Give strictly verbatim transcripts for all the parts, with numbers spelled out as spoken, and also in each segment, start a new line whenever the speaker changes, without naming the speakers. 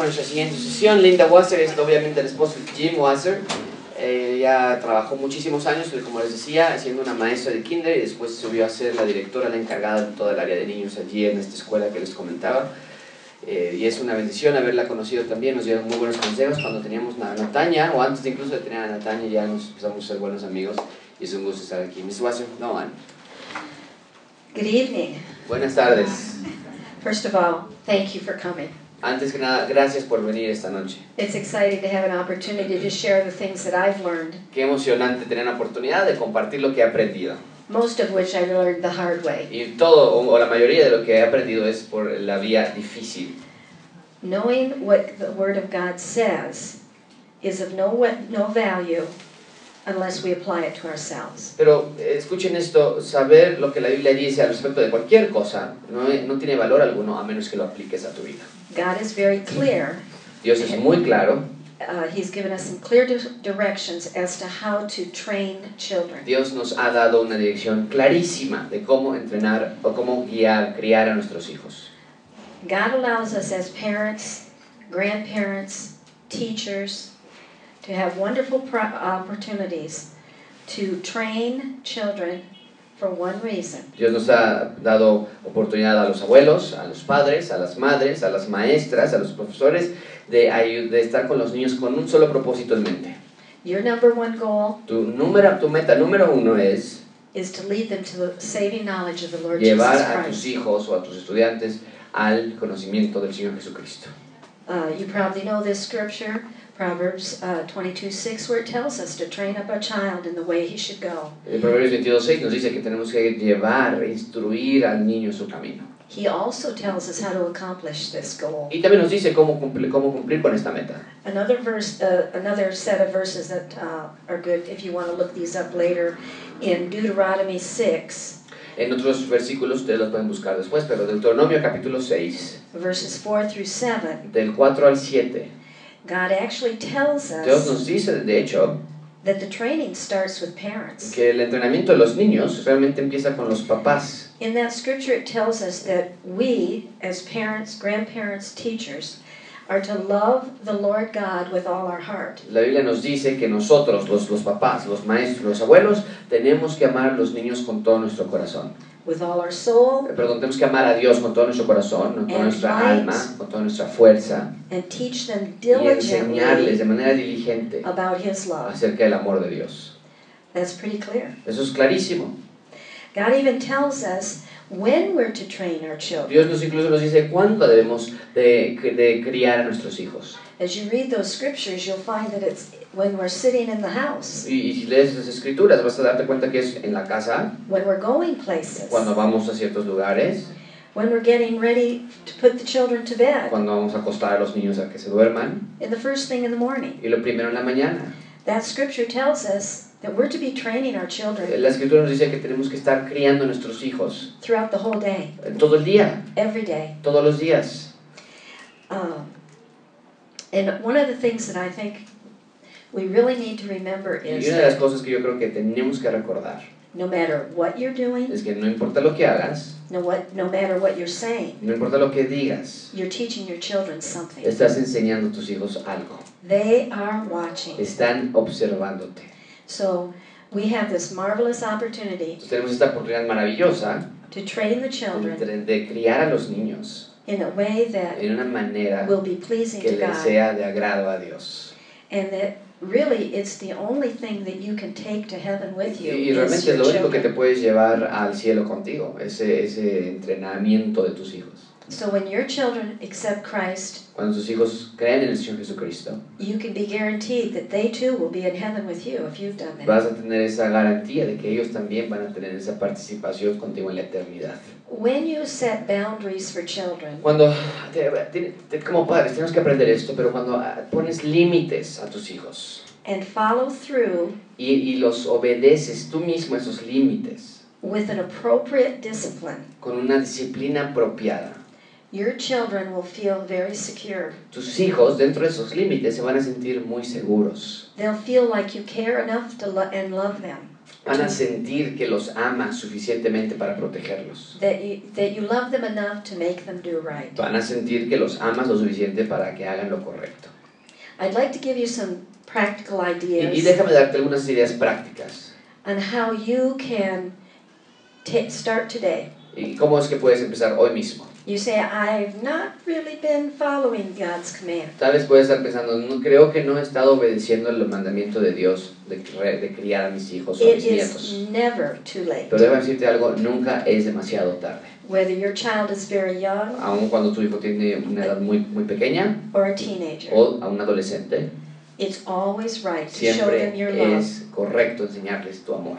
con nuestra siguiente sesión. Linda Wasser es obviamente el esposo de Jim Wasser. Eh, ya trabajó muchísimos años, como les decía, siendo una maestra de kinder y después subió a ser la directora, la encargada de toda el área de niños allí en esta escuela que les comentaba. Eh, y es una bendición haberla conocido también, nos dio muy buenos consejos cuando teníamos a Nataña, o antes de incluso de tener a Nataña, ya nos empezamos a ser buenos amigos y es un gusto estar aquí. miss Wasser, no one.
Good evening.
Buenas tardes.
First of all, thank you for coming.
Antes que nada, gracias por venir esta noche.
It's exciting to have an opportunity to share the things that I've learned,
Qué emocionante tener la oportunidad de compartir lo que he aprendido.
most of which I learned the hard way.
Y todo, o, o la mayoría de lo que he aprendido es por la vía difícil.
Knowing what the Word of God says is of no, no value unless we apply it to ourselves.
Pero eh, escuchen esto, saber lo que la Biblia dice al respecto de cualquier cosa no, no tiene valor alguno a menos que lo apliques a tu vida.
God is very clear.
Dios es muy claro.
Uh, he's given us some clear di- directions as to how to train children.
Dios nos ha dado una dirección clarísima de cómo entrenar o cómo guiar, criar a nuestros hijos.
God allows us as parents, grandparents, teachers, to have wonderful pro- opportunities to train children for one reason.
Dios nos ha dado oportunidad a los abuelos, a los padres, a las madres, a las maestras, a los profesores de, ayu- de estar con los niños con un solo propósito en mente.
Your number one goal
Tu, número, tu meta número uno es
is to lead them to the saving knowledge of the Lord
llevar
Jesus
a tus
Christ.
hijos o a tus estudiantes al conocimiento del Señor Jesucristo.
Uh, you probably know this scripture, Proverbs uh, twenty-two six, where it tells us to train up a child in the way he should go.
El Proverbios veintidós seis nos dice que tenemos que llevar, instruir al niño en su camino.
He also tells us how to accomplish this goal.
Y también nos dice cómo cumplir, cómo cumplir con esta meta.
Another verse, uh, another set of verses that uh, are good if you want to look these up later, in Deuteronomy six,
En otros versículos ustedes los pueden buscar después, pero Deuteronomio capítulo seis,
verses four through seven,
del cuatro al siete,
God actually tells
Dios
us
nos dice, de hecho,
that the training starts with parents.
que el entrenamiento de los niños realmente empieza con los papás.
In that scripture, it tells us that we, as parents, grandparents, teachers, are to love the Lord God with all our heart,
La Biblia nos dice que nosotros, los, los papás, los maestros, los abuelos, tenemos que amar a los niños con todo nuestro corazón.
with all our soul,
Perdón, tenemos que amar a Dios con todo nuestro corazón, con toda
And
nuestra
might.
alma, con toda nuestra fuerza,
and teach them
y enseñarles
diligently
de manera diligente
about His love.
acerca del amor de Dios.
That's pretty clear.
Eso es clarísimo.
God even tells us when we're to train our children.
Dios nos incluso nos dice cuándo debemos de, de criar a nuestros hijos.
As you read those scriptures, you'll find that it's when we're sitting in the house,
Y, y si lees las escrituras vas a darte cuenta que es en la casa,
when we're going places,
cuando vamos a ciertos lugares,
when we're getting ready to put the children to bed,
cuando vamos a acostar a los niños a que se duerman,
in the first thing in the morning.
y lo primero en la mañana.
That scripture tells us that we're to be training our children
La escritura nos dice que tenemos que estar criando a nuestros hijos
throughout the whole day,
todo el día,
every day.
todos los días.
Um, and one of the things that I think we really need to remember
Y
is
una de las
that
cosas que yo creo que tenemos que recordar
no matter what you're doing,
es que no importa lo que hagas,
no, what, no matter what you're saying,
no importa lo que digas,
you're teaching your children something.
estás enseñando a tus hijos algo.
They are watching.
Están observándote.
So we have this marvelous opportunity
Entonces tenemos esta oportunidad maravillosa
to train the children
de, de criar a los niños
in a way that
en una manera
will be pleasing
que
to
les
God,
sea de agrado a Dios.
and that really it's the only thing that you can take to heaven with you
Y, y
is
realmente
your
es lo único que te
children.
puedes llevar al cielo contigo, ese, ese entrenamiento de tus hijos.
So when your children accept Christ,
Cuando tus hijos creen en el Señor Jesucristo,
you can be guaranteed that they too will be in heaven with you if you've done that.
vas a tener esa garantía de que ellos también van a tener esa participación contigo en la eternidad.
When you set boundaries for children,
Cuando, te- te- te- como padres, tenemos que aprender esto, pero cuando ah, pones límites a tus hijos
and follow through
y, y los obedeces tú mismo esos límites
with an appropriate discipline,
con una disciplina apropiada,
your children will feel very secure.
tus hijos dentro de esos límites se van a sentir muy seguros.
They'll feel like you care enough to lo- and love them.
Van a sentir que los amas suficientemente para protegerlos.
that you, that you love them enough to make them do right.
Van a sentir que los amas lo suficiente para que hagan lo correcto.
I'd like to give you some practical
Y, y
ideas
déjame darte algunas ideas prácticas.
on how you can ta- start today.
¿Y cómo es que puedes empezar hoy mismo?
You say, I've not really been following God's command.
Tal vez puedes estar pensando, no, creo que no he estado obedeciendo el mandamiento de Dios de, cre- de criar a mis hijos o a
It
mis
is
nietos.
never too late.
Pero déjame decirte algo, nunca es demasiado tarde.
Whether your child is very young
Aun cuando tu hijo tiene una edad muy, muy pequeña
or a teenager,
o a un adolescente,
it's always right to show them your
siempre
love
es correcto enseñarles tu amor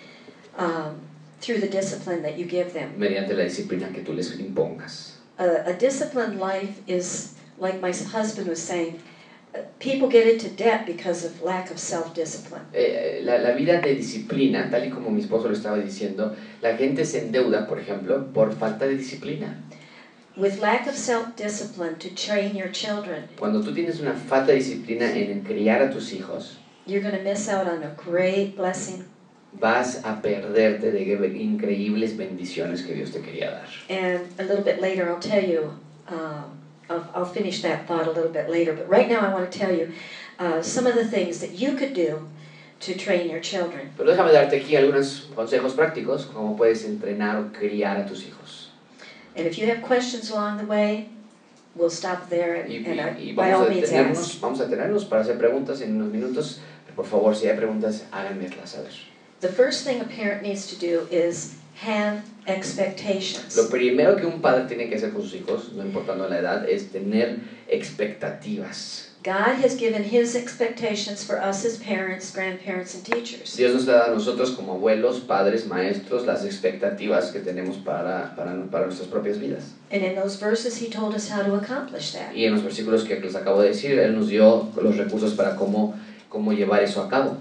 um, through the discipline that you give them.
mediante la disciplina que tú les impongas.
A, a disciplined life is, like my husband was saying, uh, people get into debt because of lack of self-discipline.
Eh, la, la vida de disciplina, tal y como mi esposo lo estaba diciendo, la gente se endeuda, por ejemplo, por falta de disciplina.
With lack of self-discipline to train your children,
Cuando tú tienes una falta de disciplina en criar a tus hijos,
you're going to miss out on a great blessing.
vas a perderte de increíbles bendiciones que Dios te quería dar.
And a little bit later, I'll tell you, uh, I'll, I'll finish that thought a little bit later, but right now I want to tell you uh, some of the things that you could do to train your children.
Pero déjame darte aquí algunos consejos prácticos, cómo puedes entrenar o criar a tus hijos.
And if you have questions along the way, we'll stop there and,
Y,
and
y,
I,
y
by all
vamos, a
means
detenernos,
ask.
vamos a tenernos para hacer preguntas en unos minutos. Por favor, si hay preguntas, háganmelas saber.
The first thing a parent needs to do is have expectations.
Lo primero que un padre tiene que hacer con sus hijos, no importando la edad, es tener expectativas.
God has given His expectations for us as parents, grandparents, and teachers.
Dios nos da a nosotros como abuelos, padres, maestros, las expectativas que tenemos para, para, para nuestras propias vidas.
And in those verses, He told us how to accomplish that.
Y en los versículos que les acabo de decir, Él nos dio los recursos para cómo, cómo llevar eso a cabo.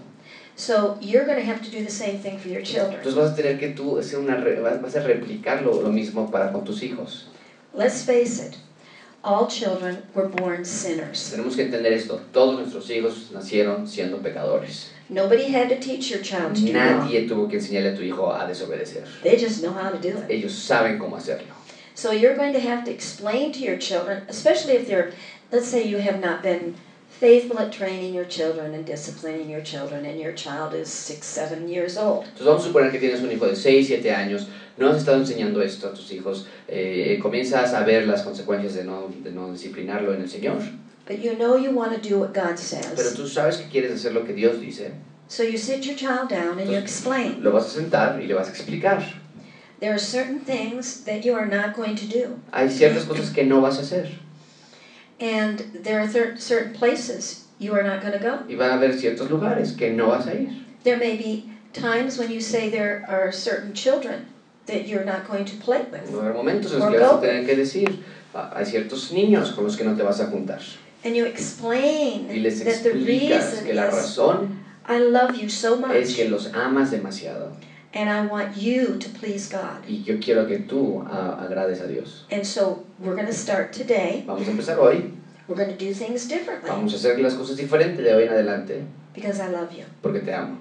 So you're going to have to do the same thing for your children.
Entonces vas a tener que tú hacer una, re- vas a replicar lo, lo mismo para con tus hijos.
Let's face it, all children were born sinners.
Tenemos que entender esto. Todos nuestros hijos nacieron siendo pecadores.
Nobody had to teach your child to do wrong.
Nadie tuvo que enseñarle a tu hijo a desobedecer.
They just know how to do it.
Ellos saben cómo hacerlo.
So you're going to have to explain to your children, especially if they're, let's say you have not been faithful at training your children and disciplining your children, and your child is six, seven years old.
Entonces vamos a suponer que tienes un hijo de seis, siete años, no has estado enseñando esto a tus hijos, eh, comienzas a ver las consecuencias de no, de no disciplinarlo en el Señor,
But you know you want to do what God
pero
says.
tú sabes que quieres hacer lo que Dios dice,
So you sit your child down and you explain.
lo vas a sentar y le vas a explicar.
There are certain things that you are not going to do.
Hay ciertas cosas que no vas a hacer
And there are cer- certain places you are not going to go.
y van a haber ciertos lugares que no vas a ir.
There may be times when you say there are certain children that you're not going to play with.
Va a haber momentos en los que vas a tener que decir, ah, hay ciertos niños con los que no te vas a juntar.
And you explain
Y les
that the
explicas
reason
que la
is
razón
I love you so
es
much
que los amas demasiado
and I want you to please God.
y yo quiero que tú ah, agrades a Dios.
And so we're going to start today.
Vamos a empezar hoy,
We're going to do things differently
vamos a hacer las cosas diferentes de hoy en adelante
because I love you.
porque te amo.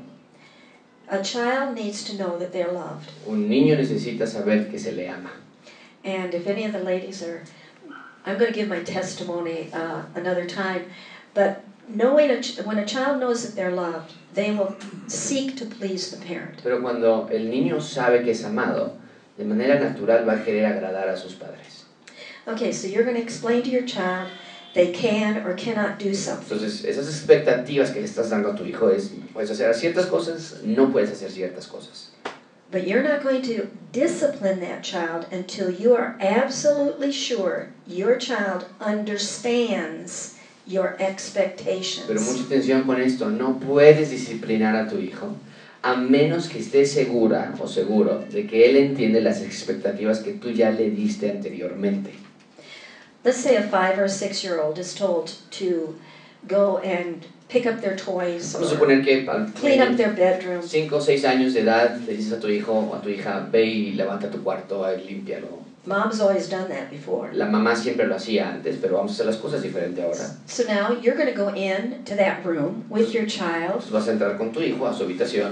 A child needs to know that they're loved.
Un niño necesita saber que se le ama.
And if any of the ladies are, I'm going to give my testimony uh, another time, but knowing a ch- when a child knows that they're loved, they will seek to please the parent.
Pero cuando el niño sabe que es amado, de manera natural va a querer agradar a sus padres.
Okay, so you're going to explain to your child they can or cannot do something.
Entonces, esas expectativas que le estás dando a tu hijo es, puedes hacer ciertas cosas, no puedes hacer ciertas cosas.
But you're not going to discipline that child until you are absolutely sure your child understands your expectations.
Pero mucha atención con esto, no puedes disciplinar a tu hijo a menos que estés segura o seguro de que él entiende las expectativas que tú ya le diste anteriormente.
Let's say a five or a six-year-old is told to go and pick up their toys
Vamos a
or
suponer que al
clean up their bedroom.
cinco o seis años de edad le dices a tu hijo o a tu hija, ve y levanta tu cuarto, y límpialo.
Mom's always done that before.
La mamá siempre lo hacía antes, pero vamos a hacer las cosas diferente ahora.
So now you're going to go in to that room with your child
Entonces vas a entrar con tu hijo a su habitación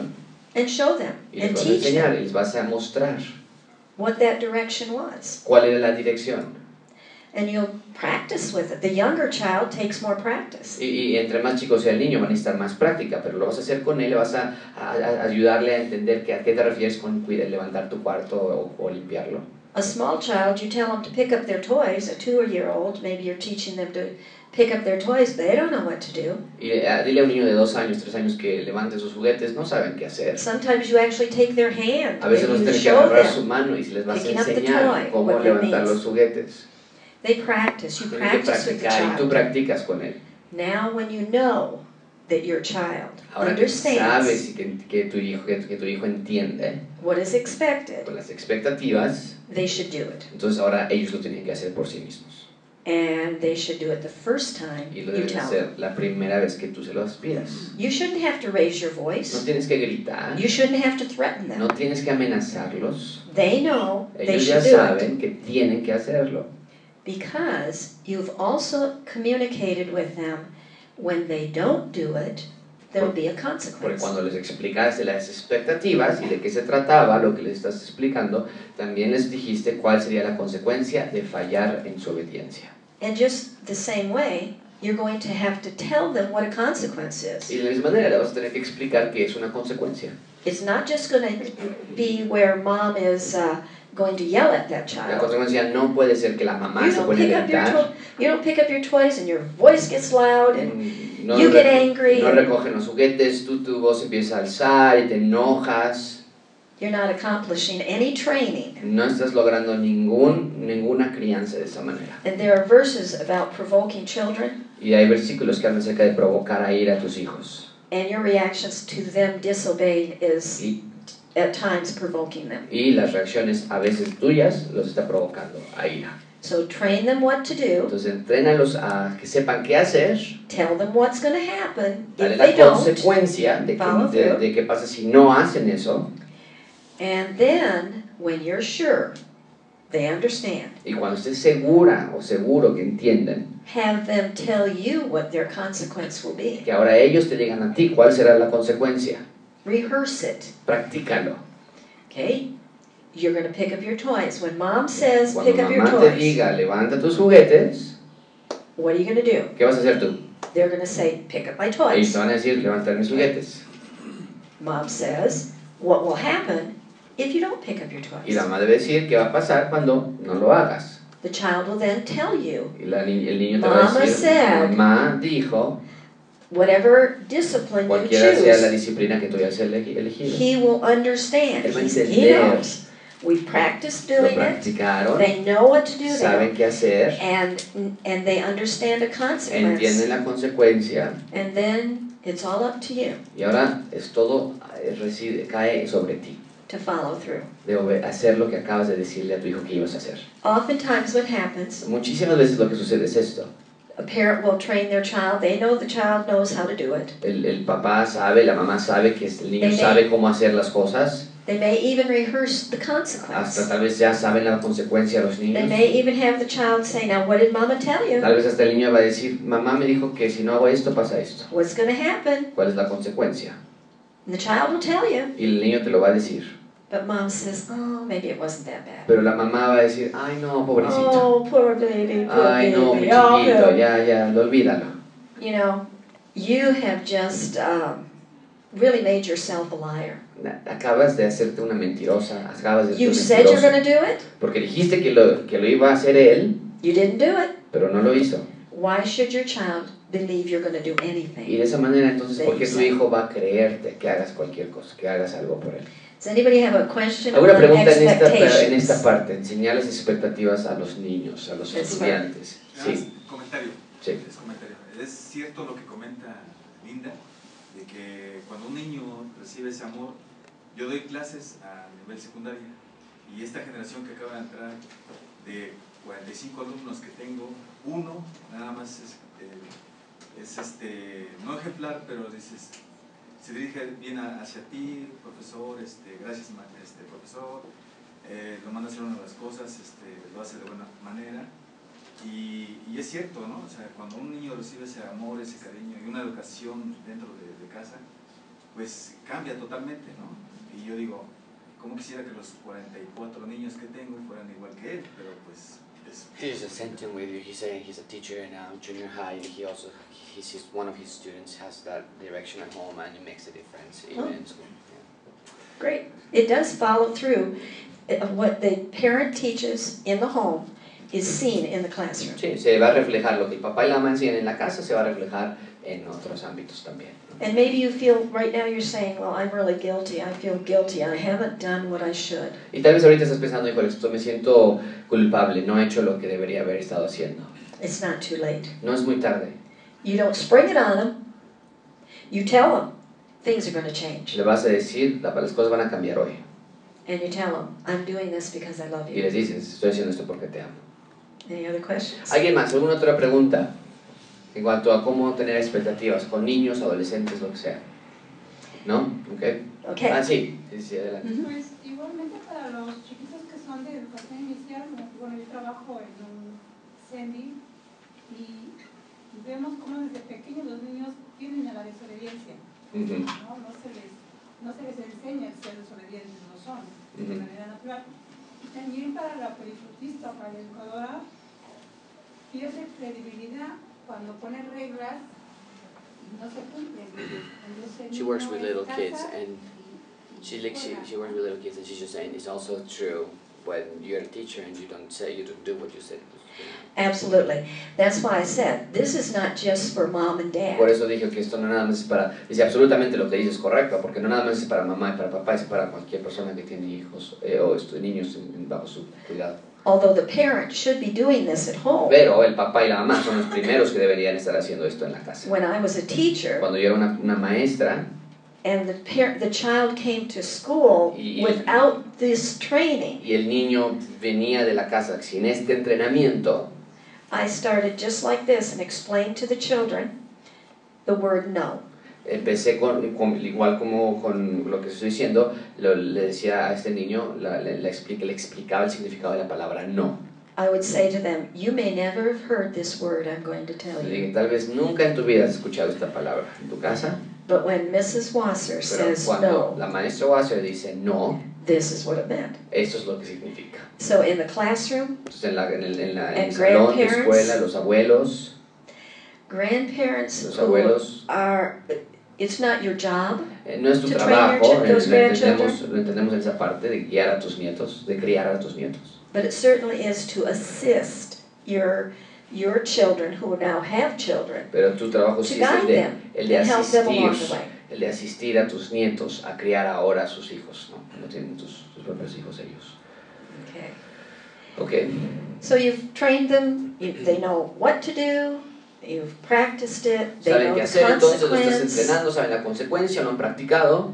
and show them
Y les
and
vas a
teach
enseñar,
them
y les vas a mostrar
what that direction was.
cuál era la dirección.
And you'll practice with it. The younger child takes more practice.
Y, y entre más chico sea el niño, van a necesitar más práctica, pero lo vas a hacer con él, le vas a, a, a ayudarle a entender que, a qué te refieres con cuidar, levantar tu cuarto o, o limpiarlo.
A small child, you tell them to pick up their toys. A two-year-old, maybe you're teaching them to pick up their toys. They don't know what to do.
Y uh, dile a un niño de dos años, tres años que levante sus juguetes, no saben qué hacer.
Sometimes you actually take their hand.
A veces vas a
Maybe you
tener que
show
agarrar
them.
su mano y si les vas a
Picking up the
enseñar
toy,
cómo
what that
levantar
means.
los juguetes.
They practice. You
Tienes que
practice with the
practicar y tú
child.
practicas con él.
Now, when you know that your child
Ahora que sabes
understands
y que, que, tu hijo, que, que tu hijo entiende
what is expected,
con las expectativas,
they should do it.
entonces ahora ellos lo tienen que hacer por sí mismos.
And they should do it the first time
Y lo
you
deben
tell
hacer
them.
la primera vez que tú se los pidas.
You shouldn't have to raise your
No
voice.
tienes que gritar,
You shouldn't have to threaten them.
no tienes que amenazarlos.
They know they
Ellos ya
should do it.
saben que tienen que hacerlo.
Because you've also communicated with them when they don't do it, there'll be a
Porque
consequence.
cuando les explicaste las expectativas y de qué se trataba lo que les estás explicando, también les dijiste cuál sería la consecuencia de fallar en su obediencia.
And just the same way, you're going to have to tell them what a consequence is.
Y de la misma manera le vas a tener que explicar qué es una consecuencia.
It's not just going to be where mom is uh, going to yell at that
La
child.
consecuencia no puede ser que la mamá
You
se
don't
pone a
pick up your
gritar.
to- you don't pick up your toys and your voice gets loud and
Mm, No,
you
re-
get angry
no
and-
recogen los juguetes, tú tu voz empieza a alzar y te enojas.
you're not accomplishing any training.
No estás logrando ningún, ninguna crianza de esa manera.
And there are verses about provoking children
Y hay versículos que hablan acerca de provocar a ira a tus hijos.
and your reactions to them disobeying is
Y,
at times provoking them.
y las reacciones a veces tuyas los está provocando a ira.
So train them what to do,
Entonces entrénalos a que sepan qué hacer,
tell them what's going to happen
dale
if
la
they don't,
consecuencia de,
follow
que, de,
through.
de qué pasa si no hacen eso.
And then when you're sure they understand,
Y cuando estés segura o seguro que entienden,
have them tell you what their consequence will be.
que ahora ellos te digan a ti cuál será la consecuencia.
Rehearse it.
Practícalo.
Okay? You're going to pick up your toys. When mom says
Cuando
pick up your
mamá te
toys,
diga levanta tus juguetes,
what are you going to do?
¿qué vas a hacer tú?
They're going to say pick up my
Ellos
toys.
te van a decir levantar mis juguetes.
Mom says, what will happen if you don't pick up your
Y la
toys?
mamá debe decir qué va a pasar cuando no lo hagas.
The child will then tell you
Y la ni- el niño te va a
Mama
decir,
said,
mamá dijo,
whatever discipline you
cualquiera sea la
choose,
disciplina que tú hayas elegi- elegido.
he will understand.
Él va a
He's, he
entender.
knows. We've practiced
Lo
doing it.
practicaron,
They know what to do
saben
there.
qué hacer,
And, and they understand a consequence.
entienden la consecuencia
And then it's all up to you
y ahora es todo eh, reside, cae sobre ti.
to follow through.
De obe- hacer lo que acabas de decirle a tu hijo que ibas a hacer.
Oftentimes what happens,
Muchísimas veces lo que sucede es esto.
a parent will train their child. They know the child knows how to do it.
El, el papá sabe, la mamá sabe que el niño
They may-
sabe cómo hacer las cosas.
They may even rehearse the
Hasta
consequence.
tal vez ya saben la consecuencia los
They
niños.
may even have the child say, now what did mama tell you?
Tal vez hasta el niño va a decir, mamá me dijo que si no hago esto pasa esto.
What's going to happen?
¿Cuál es la consecuencia?
And the child will tell you.
Y el niño te lo va a decir.
But mom says, oh, maybe it wasn't that bad.
Pero la mamá va a decir, ay no, pobrecito.
Oh, poor baby, poor
Ay no, mi
baby. Oh,
chiquito,
no.
ya, ya, lo olvídalo.
You know, you have just um, really made yourself a liar.
Acabas de hacerte una mentirosa, acabas de
You
ser
said you're
mentiroso.
going to do it.
Porque dijiste que lo, que lo iba a hacer él,
You didn't do it.
pero no lo hizo.
Why should your child believe you're going to do
Y
anything?
de esa manera entonces, ¿por qué tu hijo va a creerte que hagas cualquier cosa, que hagas algo por él?
Does anybody have a question on
¿Alguna pregunta en esta, en
expectations?
esta parte? Enseñar las expectativas a los niños, a los
That's
estudiantes.
Nada más,
Sí,
comentario.
sí.
Es comentario. Es cierto lo que comenta Linda, de que cuando un niño recibe ese amor, yo doy clases a nivel secundaria y esta generación que acaba de entrar, de cuarenta y cinco alumnos que tengo, uno nada más es, eh, es este, no ejemplar, pero dices, se dirige bien a- hacia ti, profesor, este, gracias ma- este, profesor, eh, lo manda a hacer una de las cosas, este, lo hace de buena manera. Y, y es cierto, ¿no? O sea, cuando un niño recibe ese amor, ese cariño y una educación dentro de, de casa, pues cambia totalmente, ¿no? Y yo digo, ¿cómo quisiera que los cuarenta y cuatro niños que tengo fueran igual que él? Pero pues...
He's the same thing with you. He's saying he's a teacher in uh, junior high. He also, he's his, one of his students has that direction at home, and it makes a difference even
Oh.
in school. Yeah.
Great. It does follow through. Uh, What the parent teaches in the home is seen in the classroom.
Sí, se va a reflejar lo que el papá y la mamá enseñan en la casa, se va a reflejar en otros ámbitos también.
And maybe you feel, right now you're saying, well, I'm really guilty. I feel guilty. I haven't done what I should.
Y tal vez ahorita estás pensando, híjole, esto me siento culpable, no he hecho lo que debería haber estado haciendo.
It's not too late.
No es muy tarde.
You don't spring it on them. You tell them things are going to change.
Le vas a decir, la- las cosas van a cambiar hoy.
And you tell them, I'm doing this because I love
Y
you.
les dices, estoy haciendo esto porque te amo.
Any other questions?
¿Alguien más? ¿Alguna otra pregunta? En cuanto a cómo tener expectativas con niños, adolescentes, lo que sea. ¿No? ¿Ok?
Okay.
Ah, sí. Sí, sí, adelante.
Mhm.
Pues igualmente para los chiquitos que son de educación inicial, bueno, yo trabajo en un C E N D I y vemos cómo desde pequeños los niños tienen a la desobediencia,
Ujú.
¿no? No se les, no se les enseña a ser desobedientes, no son, de
Ujú.
manera natural. Y también para la perifutista, para la educadora, pierde credibilidad cuando pone reglas y no se cumplen. Entonces, el
She works
niño
with
es
little
casa
kids, and
y- y
she like she,
fuera.
she works with little kids, and she's just saying it's also true when you're a teacher and you don't say, you don't do what you said.
Absolutely. That's why I said, this is not just for mom and dad.
Por eso dije que esto no nada más es para, dice absolutamente lo que dices es correcto, porque no nada más es para mamá y para papá, es para cualquier persona que tiene hijos eh, o esto, niños en- en- bajo su cuidado.
Although the parent should be doing this at home.
Pero el papá y la mamá son los primeros que deberían estar haciendo esto en la casa.
When I was a teacher
Cuando yo era una, una maestra
and the parent, the child came to school
Y-
without this training,
y el niño venía de la casa sin este entrenamiento,
I started just like this and explained to the children the word no.
empecé con, con- igual como con lo que estoy diciendo, lo- le decía a este niño, la- le, le explica- le explicaba el significado de la palabra no.
I would say to them, you may never have heard this word I'm going to tell
Le
you.
dije, tal vez nunca en tu vida has escuchado esta palabra en tu casa,
But when Missus Wasser
pero
says
cuando
no,
la maestra Wasser dice no,
this is what it meant.
esto es lo que significa.
So in the classroom,
Entonces en, la, en el, en la- en el
And
salón de
grandparents.
escuela, los abuelos,
grandparents
los
who
abuelos,
are, it's not your job
eh, no es tu
To train
trabajo,
your ch-
eh,
those
lo, entendemos,
grandchildren.
lo entendemos en esa parte de guiar a tus nietos, de criar a tus nietos.
but it certainly is to assist your your children who now have children
Pero tu trabajo
to
sí es el
guide
de,
them
el de
and help them along the
asistir,
way.
el de asistir a tus nietos a criar ahora a sus hijos, ¿no? Cuando tienen tus, tus propios hijos ellos.
Okay.
Ok,
So you've trained them, you, they know what to do, you've practiced it, they
saben
know
qué
the
hacer, entonces lo estás
consequence,
entrenando, saben la consecuencia, lo han practicado,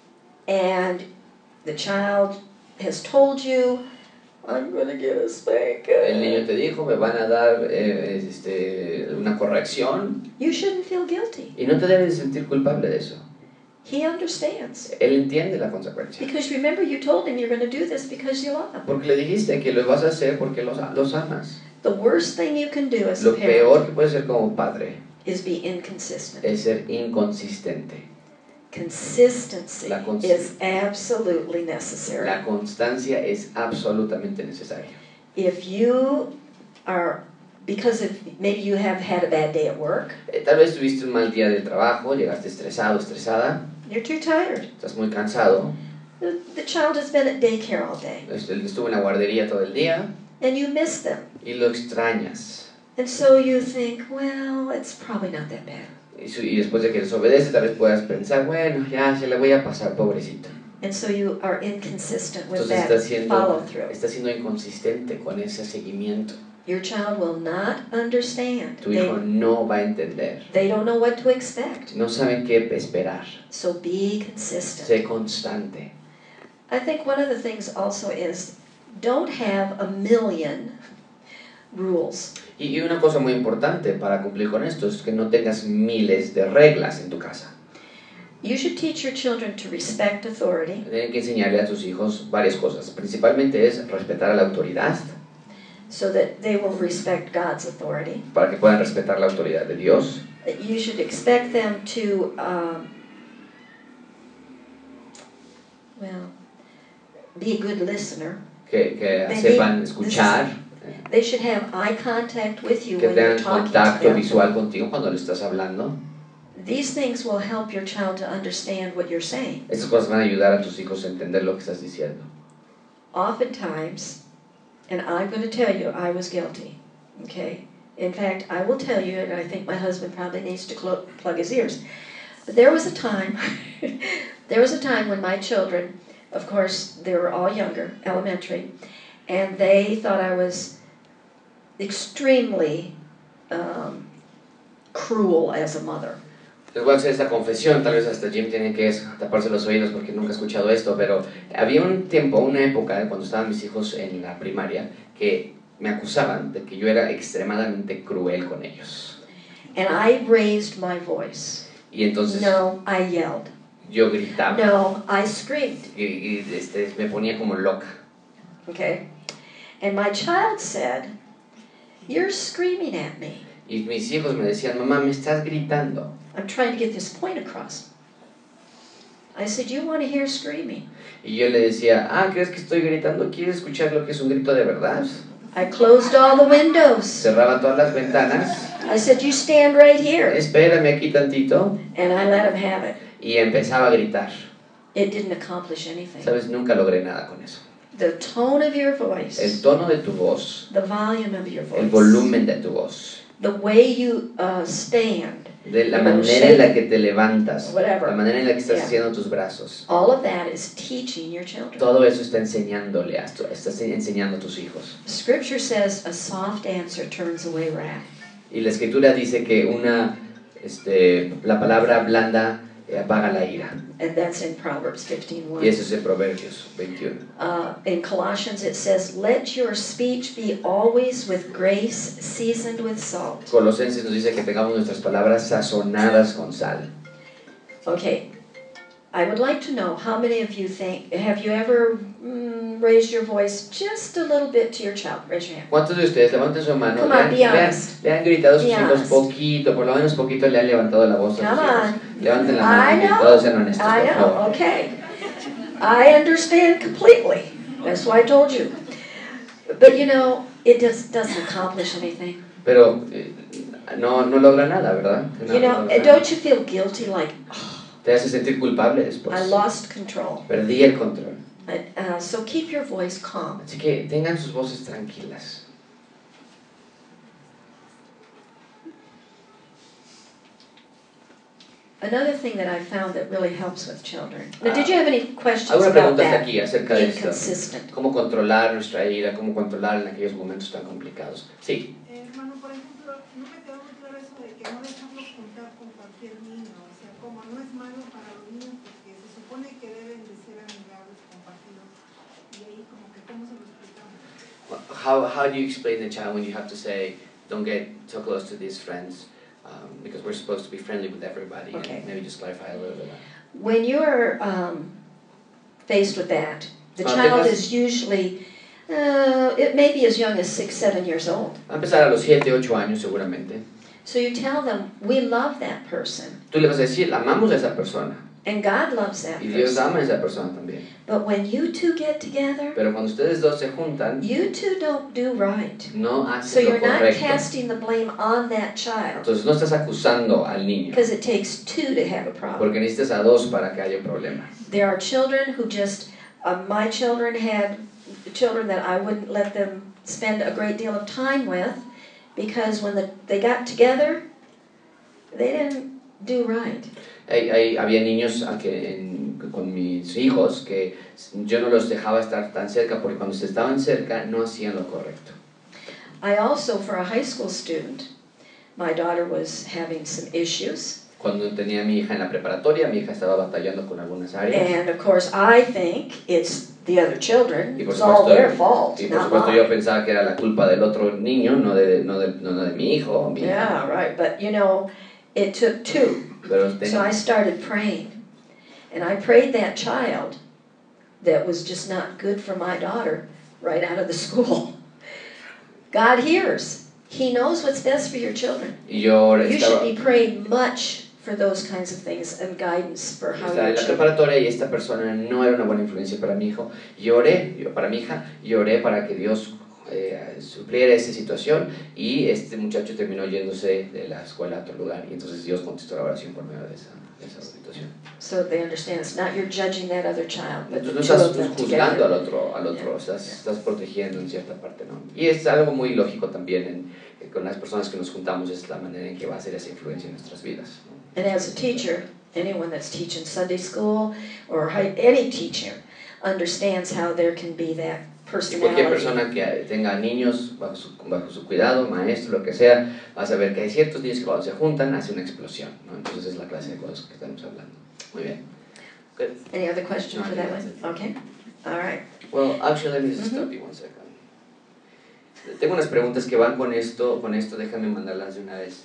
and the child has told you, I'm going to get a
el
spanking.
niño te dijo, me van a dar eh, este, una corrección,
You shouldn't feel guilty.
y no te debes sentir culpable de eso.
He understands.
Él entiende la consecuencia.
Because remember, you told him you're going to do this because you love him.
Porque le dijiste que lo vas a hacer porque los, los amas.
The worst thing you can do as a
Lo
parent
peor que puedes hacer como padre
is be inconsistent.
es ser inconsistente.
Consistency
La cons-
is absolutely necessary.
La constancia es absolutamente necesaria.
If you are, because if maybe you have had a bad day at work,
Eh, tal vez tuviste un mal día de trabajo, llegaste estresado, estresada,
you're too tired.
estás muy cansado,
The, the child has been at daycare all day,
este, estuvo en la guardería todo el día
and you miss them.
y lo extrañas.
And so you think, well, it's probably not that bad.
Y, su- y después de que desobedece, tal vez puedas pensar, bueno, ya se la voy a pasar, pobrecito.
And so you are inconsistent with
Entonces
that
está siendo,
follow through.
está siendo inconsistente con ese seguimiento.
Your child will not understand.
Tu hijo
They,
no va a entender.
they don't know what to expect.
No saben qué esperar.
So be consistent.
Sé constante.
I think one of the things also is don't have a million rules.
Y, y una cosa muy importante para cumplir con esto es que no tengas miles de reglas en tu casa.
You should teach your children to respect authority,
Tienen que enseñarle a tus hijos varias cosas. Principalmente es respetar a la autoridad,
so that they will respect God's authority.
para que puedan respetar la autoridad de Dios.
You should expect them to um, be a good listener.
que, que
They
sepan
need-
escuchar,
They should have eye contact with you
que
when you're
tengan
talking to
contacto
them.
visual contigo cuando le estás hablando.
These things will help your child to understand what you're saying.
Estas cosas van a ayudar a tus hijos a entender lo que estás diciendo.
Oftentimes, and I'm going to tell you, I was guilty, okay? In fact, I will tell you, and I think my husband probably needs to clo- plug his ears. But there was a time, there was a time when my children, of course, they were all younger, elementary, and they thought I was extremely um, cruel as a mother.
Les voy a hacer esta confesión, tal vez hasta Jim tiene que taparse los oídos porque nunca ha escuchado esto, pero había un tiempo, una época, cuando estaban mis hijos en la primaria, que me acusaban de que yo era extremadamente cruel con ellos.
And I raised my voice.
Y entonces
No, I yelled.
yo gritaba
No, I screamed.
y, y este, me ponía como loca.
Okay? And my child said, "You're screaming at me.
Y mis hijos me decían, mamá, me estás gritando.
I'm trying to get this point across." I said, "You want to hear screaming?"
Y yo le decía, ah, ¿crees que estoy gritando? ¿Quieres escuchar lo que es un grito de verdad?
I closed all the windows.
Cerraba todas las ventanas.
I said, "You stand right here."
Espérame aquí tantito.
And I let him have it.
Y empezaba a gritar.
It didn't accomplish anything.
Sabes, nunca logré nada con eso.
The tone of your
El
voice,
tono de tu voz,
the volume of your
el
voice,
volumen de tu voz,
the way you uh, stand,
de la
You know,
manera en la
shake,
que te levantas,
whatever.
la manera en la que estás
Yeah.
haciendo tus brazos.
all of that is teaching your children.
Todo eso está enseñándole a tu- estás enseñando a tus hijos.
Scripture says a soft answer turns away wrath.
Y la escritura dice que una, este, la palabra blanda eh, apaga la ira.
And that's in Proverbs fifteen one.
Y eso es en Proverbios veintiuno.
Uh, in Colossians it says, "Let your speech be always with grace, seasoned with salt."
Colosenses nos dice que tengamos nuestras palabras sazonadas con sal.
Okay, I would like to know how many of you think, have you ever mm, raised your voice just a little bit to your child? Raise your hand.
¿Cuántos de ustedes levanten su mano?
Come
Le
on,
han,
be
le han-
honest.
le han gritado a sus
Be
hijos
honest.
poquito, por lo menos poquito le han levantado la voz a sus
Come
hijos.
on.
Levanten la
I
mano y
know.
todos sean honestos,
I
por
know,
favor.
okay. I understand completely. That's why I told you. But you know, it just doesn't accomplish anything.
Pero eh, no, no logra nada, ¿verdad? No,
You
no
know,
logra nada.
don't you feel guilty like, oh,
Te hace sentir culpable después.
I lost control?
Perdí el control.
Uh, so keep your voice calm.
Así que tengan sus voces tranquilas.
Another thing that I found that really helps with children. Now, did you have any questions
¿Alguna
about
pregunta hasta
that?
aquí acerca de
Being
esto?
consistent.
¿Cómo controlar nuestra ira? ¿Cómo controlar en aquellos momentos tan complicados? Sí.
Eh, hermano, por ejemplo, no me quedó muy claro eso de que no dejarlo juntar con cualquier niño, o sea, como no es malo para los niños porque se supone que deben de ser amigables, compartidos, y ahí como que cómo se lo explicamos.
How, how do you explain the child when you have to say, don't get so close to these friends, um, because we're supposed to be friendly with everybody,
Okay.
and maybe just clarify a little bit.
When you're um, faced with that, the
Ah,
child
tengas-
is usually, uh, it may be as young as six, seven years old.
Va a empezar a los siete, ocho años seguramente.
So you tell them, we love that person,
Tú le vas a decir, amamos a esa persona,
and God loves that
y Dios
person.
ama a esa persona también.
But when you two get together,
Pero cuando ustedes dos se juntan,
you two don't do right.
no
So
hacen lo
you're not
correcto.
casting the blame on that child,
Entonces no estás acusando al niño,
because it takes two to have a problem.
porque necesitas a dos para que haya un problema.
There are children who just, uh, my children had children that I wouldn't let them spend a great deal of time with, because when the, they got together, they didn't do right.
Hay, hay, había niños a que en- con mis hijos que yo no los dejaba estar tan cerca porque cuando se estaban cerca no hacían lo correcto.
I also, for a high school student, my daughter was having some issues,
Cuando tenía a mi hija en la preparatoria, mi hija estaba batallando con algunas áreas.
and of course I think it's the other children,
Y por
it's all
supuesto,
their fault,
y por
not
supuesto yo
mine.
pensaba que era la culpa del otro niño, no de, no de, no de mi hijo o mi hija.
Yeah, right, but you know, it took two.
Pero
So
ten-
I started praying, and I prayed that child that was just not good for my daughter right out of the school. God hears. He knows what's best for your children.
y yo
You should
estaba,
be praying much for those kinds of things and guidance for how
Estaba
your
en la
children.
preparatoria y esta persona no era una buena influencia para mi hijo. Lloré, yo, para mi hija, lloré para que Dios eh, supliera esa situación y este muchacho terminó yéndose de la escuela a otro lugar y entonces Dios contestó la oración por medio de esa, de esa situación.
So they understand it's not you're judging that other child, but the
Entonces
two
no
of
estás
them
juzgando al
together.
otro, al otro
Yeah,
estás,
yeah.
estás protegiendo en cierta parte, ¿no? Y es algo muy lógico también en, eh, con las personas que nos juntamos, es la manera en que va a ser esa influencia en nuestras vidas, ¿no?
And as a teacher, anyone that's teaching Sunday school or hi- any teacher understands how there can be that
Y cualquier
personality.
persona que tenga niños bajo su, bajo su cuidado, maestro, lo que sea, va a saber que hay ciertos niños que cuando se juntan hace una explosión, ¿no? Entonces es la clase de cosas que estamos hablando. Muy bien. Good.
Any other question
No,
for
I
that
think
one?
that's it.
Okay. All right.
Well, actually, let me just stop you one second. Tengo unas preguntas que van con esto, con esto, déjame mandarlas de una vez.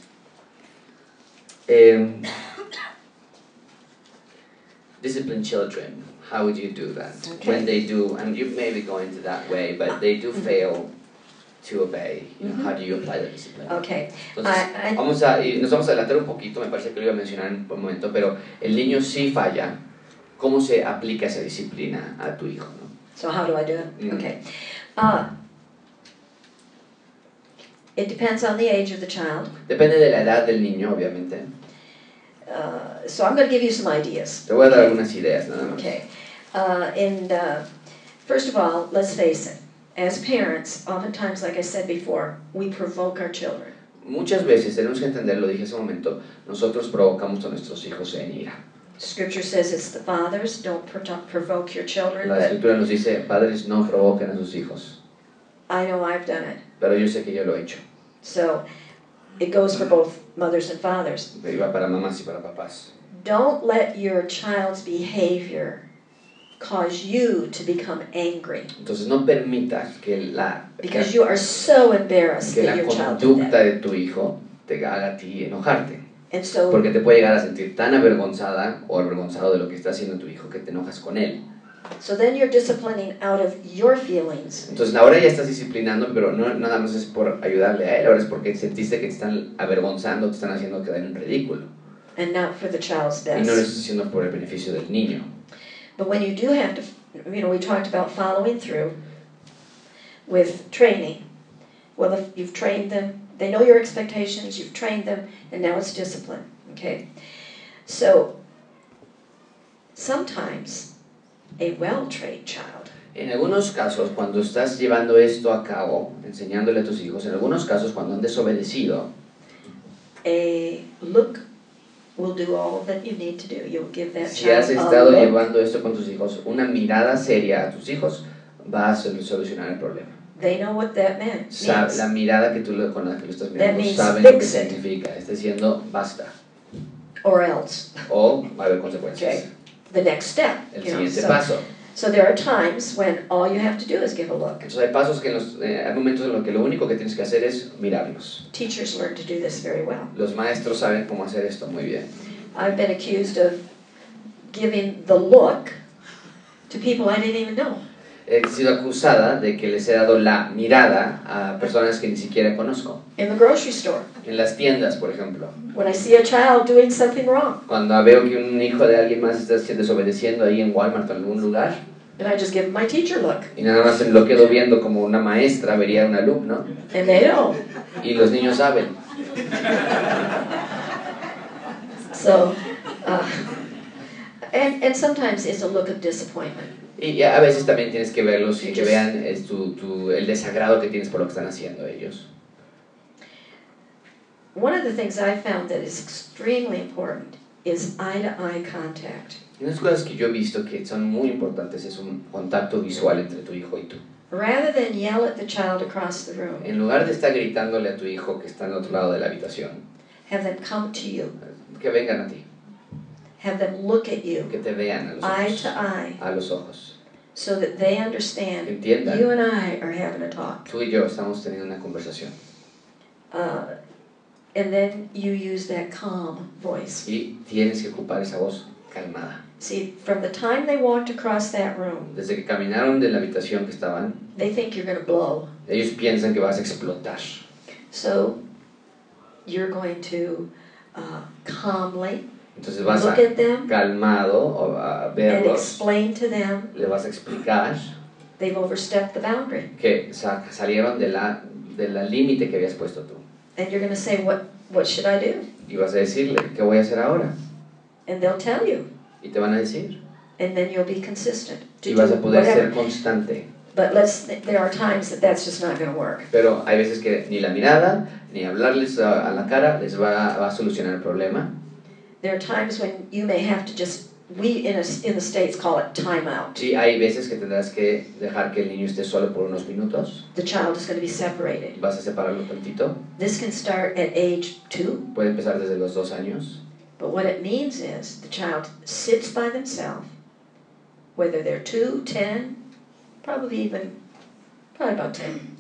Um, discipline children, how would you do that?
Okay.
When they do, and you may be going to that way, but they do fail to obey, you know, how do you apply the discipline?
Okay.
Entonces,
I- I-
vamos a, y nos vamos a adelantar un poquito, me parece que lo iba a mencionar en un momento, pero el niño sí falla, ¿cómo se aplica esa disciplina a tu hijo, no?
So how do I do it?
Mm.
Okay. Uh, it depends on the age of the child.
Depende de la edad del niño, obviamente.
Uh, so I'm going to give you some ideas.
Te voy a dar algunas ideas, nada más.
Okay. Uh, and uh, first of all, let's face it. As parents, oftentimes, like I said before, we provoke our children.
Muchas veces, tenemos que entender, lo dije hace un momento, nosotros provocamos a nuestros hijos en ira.
Scripture says it's the fathers, don't pro- provoke your children,
La
but
escritura nos dice, padres no provoquen a sus hijos,
I know I've done it.
pero yo sé que yo lo he hecho.
So it goes for both mothers and fathers.
Iba para mamás y para papás.
Don't let your child's behavior cause you to become angry
Entonces no permitas que la,
because you are so embarrassed
que
that
la
your child did
conducta
that.
de tu hijo te haga a ti enojarte.
And so
Porque te puede llegar a sentir tan avergonzada o avergonzado de lo que está haciendo tu hijo que te enojas con él.
So then you're disciplining out of your feelings.
Entonces ahora ya estás disciplinando, pero no nada más es por ayudarle a él, ahora es porque sentiste que te están avergonzando, te están haciendo quedar en ridículo.
And not for the child's
Y no lo
best.
estás haciendo por el beneficio del niño.
But when you do have to, you know, we talked about following through with training. Well, if you've trained them, they know your expectations, you've trained them, and now it's discipline, okay? So, sometimes a well-trained child
En algunos casos, cuando estás llevando esto a cabo, enseñándole a tus hijos, en algunos casos cuando han desobedecido,
a look will do all that you need to do. You'll give that
si has
child a
estado
look.
llevando esto con tus hijos, una mirada seria a tus hijos va a sol- solucionar el problema.
They know what that meant,
Sa-
means.
la mirada que tú le- con la que lo estás
That
mirando
means
saben lo que
fix it.
significa. Está diciendo basta.
Or else.
O va a haber consecuencias.
Okay. The next step.
El
you know,
siguiente
so,
paso.
so there are times when all you have to do is give a look.
Entonces hay pasos que en los, eh, hay momentos en los que lo único que tienes que hacer es mirarlos.
Teachers learn to do this very well.
Los maestros saben cómo hacer esto muy bien.
I've been accused of giving the look to people I didn't even know.
He sido acusada de que les he dado la mirada a personas que ni siquiera conozco.
In the grocery store,
En las tiendas, por ejemplo.
when I see a child doing something wrong,
Cuando veo que un hijo de alguien más está desobedeciendo ahí en Walmart o en algún lugar,
and I just give them my teacher look.
y nada más lo quedo viendo como una maestra vería a un alumno,
And they know.
y los niños saben.
So, uh, and, and sometimes it's a look of disappointment.
Y a veces también tienes que verlos y
You
que
just-
vean es tu, tu, el desagrado que tienes por lo que están haciendo ellos.
One of the things I found that is extremely important is eye-to-eye contact.
Y unas cosas que yo he visto que son muy importantes es un contacto visual entre tu hijo y tú.
Rather than yell at the child across the room,
En lugar de estar gritándole a tu hijo que está en otro lado de la habitación,
have them come to you.
que vengan a ti,
Have them look at you,
que te vean a los
eye
ojos,
to eye,
a los ojos.
so that they understand
Entiendan.
you and I are having a talk.
Tú y yo estamos teniendo una conversación
Uh, and then you use that calm voice.
y tienes que ocupar esa voz calmada.
See, from the time they walked across that room,
Desde que caminaron de la habitación que estaban,
they think you're going to blow.
ellos piensan que vas a explotar.
So you're going to uh, calmly,
Entonces vas
look
a
at them,
calmado a
and
verlos,
explain to them
le vas a explicar
they've overstepped the boundary.
que sa- salieron de la, de la límite que habías puesto tú.
And you're going to say, what, what should I do?
Y vas a decirle, ¿qué voy a hacer ahora?
And they'll tell you.
Y te van a decir.
And then you'll be consistent to
Y
do
vas a poder
whatever.
ser constante.
But let's, there are times that that's just not going to work.
Pero hay veces que ni la mirada, ni hablarles a, a la cara les va, va a solucionar el problema.
There are times when you may have to just, we in, a, in the States call it time out.
Sí, hay veces que tendrás que dejar que el niño esté solo por unos minutos.
The child is going to be separated.
Vas a separarlo tantito.
This can start at age two,
Puede empezar desde los dos años.
but what it means is the child sits by themselves, whether they're two, ten, probably even, probably about ten.